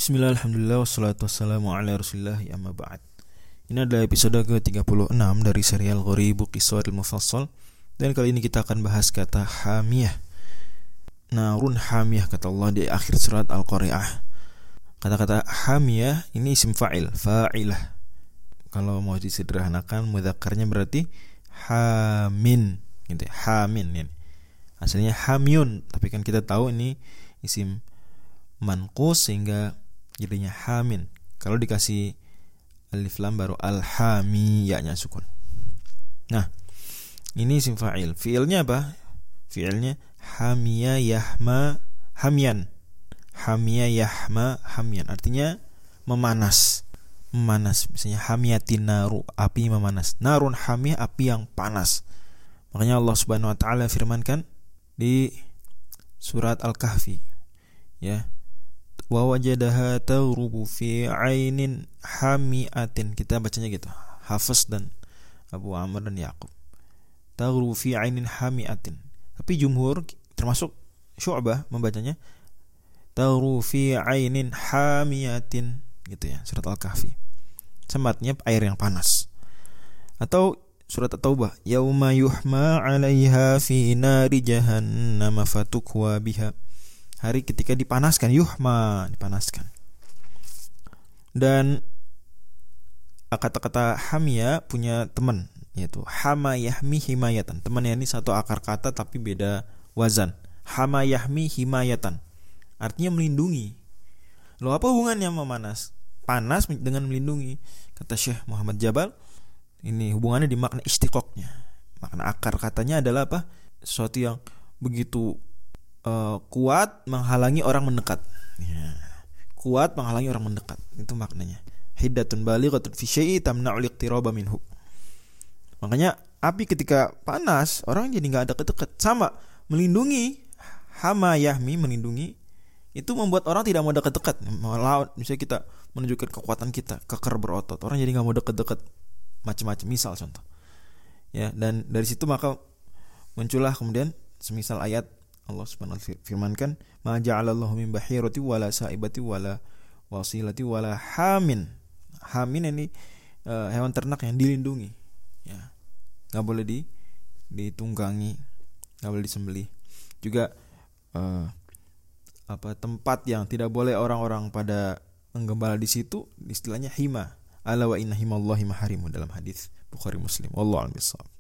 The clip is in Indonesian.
Bismillah, alhamdulillah, wassalatu wassalamu ala rasulillah, amma ba'd. Ini adalah episode ke-36 dari serial Ghoribu Qisaril Mufassal. Dan kali ini kita akan bahas kata hamiyah. Narun hamiyah, kata Allah di akhir surat Al-Qari'ah. Kata-kata hamiyah ini isim fa'il, fa'ilah. Kalau mau disederhanakan, mudzakarnya berarti hamin gitu ya, hamin yani. Asalnya hamyun, tapi kan kita tahu ini isim manqus sehingga jadinya hamin. Kalau dikasih alif lam baru al-hami, ya-nya sukun. Nah, ini isim fa'il. Fi'ilnya apa? Fi'ilnya hamiya yahma hamyan. Hamiya yahma hamyan. Artinya memanas. Memanas. Misalnya hamiyatin naru, api memanas. Narun hamiyah, api yang panas. Makanya Allah Subhanahu wa taala firmankan di surat Al-Kahfi, ya, wa wajadaha tawrubu fi ainin hamiatin. Kita bacanya gitu, Hafiz dan Abu Amr dan Yaqub, tawrubu fi ainin hamiatin. Tapi jumhur termasuk Syu'bah membacanya tawrubu fi ainin hamiatin gitu ya, surat Al-Kahfi. Sematnya air yang panas. Atau surat At-Taubah, yauma yuhma 'alaiha fi nari jahannam fatukwa biha. Hari ketika dipanaskan, yuhma, dipanaskan. Dan kata-kata hamia punya teman, yaitu hama yahmi himayatan. Temannya ini satu akar kata tapi beda wazan. Hama yahmi himayatan, artinya melindungi. Loh, apa hubungannya memanas? Panas dengan melindungi. Kata Syekh Muhammad Jabal, ini hubungannya di makna istiqoknya. Makna akar katanya adalah apa? Sesuatu yang begitu kuat menghalangi orang mendekat. Ya. Kuat menghalangi orang mendekat. Itu maknanya. Hiddatun balighatun fi syai'i tamna'ul iqtiraba minhu. Makanya api ketika panas, orang jadi enggak ada dekat. Sama, melindungi, hama yahmi, melindungi, itu membuat orang tidak mau dekat-dekat. Melawan, misalnya kita menunjukkan kekuatan kita, keker berotot. Orang jadi enggak mau dekat-dekat macam-macam, misal contoh. Ya, dan dari situ maka muncullah kemudian semisal ayat Allah Subhanahu wa taala firmankan, ma ja'alallahu min bahirati wala saibati wala wasilati wala hamin. Hamin ini hewan ternak yang dilindungi, ya. Enggak boleh ditunggangi, enggak boleh disembelih. Juga tempat yang tidak boleh orang-orang pada menggembala di situ, istilahnya hima. Ala wa inna himallahi maharimu, dalam hadis Bukhari Muslim. Wallahu a'lam bishawab.